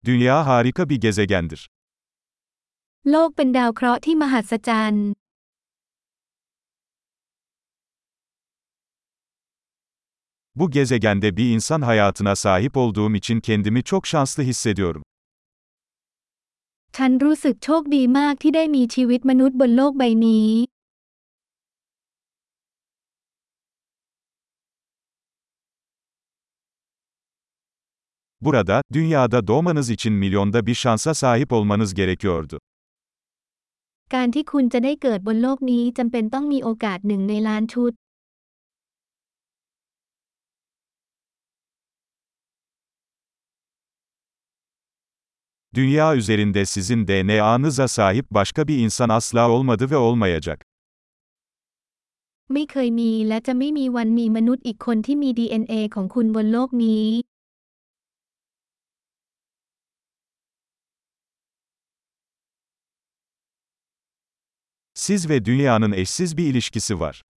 Dünya harika bir gezegendir. โลกเป็นดาวเคราะห์ที่มหัศจรรย์ Bu gezegende bir insan hayatına sahip olduğum için kendimi çok şanslı hissediyorum. ฉันรู้สึกโชคดีมากที่ได้มีชีวิตมนุษย์บนโลกใบนี้ Burada, dünyada doğmanız için milyonda bir şansa sahip olmanız gerekiyordu. การที่คุณจะได้เกิดบนโลกนี้จำเป็นต้องมีโอกาสหนึ่งในล้านชุด Dünya üzerinde sizin DNA'nıza sahip başka bir insan asla olmadı ve olmayacak. ไม่เคยมีและจะไม่มีวันมีมนุษย์อีกคนที่มี DNA ของคุณบนโลกนี้ Siz ve dünyanın eşsiz bir ilişkisi var.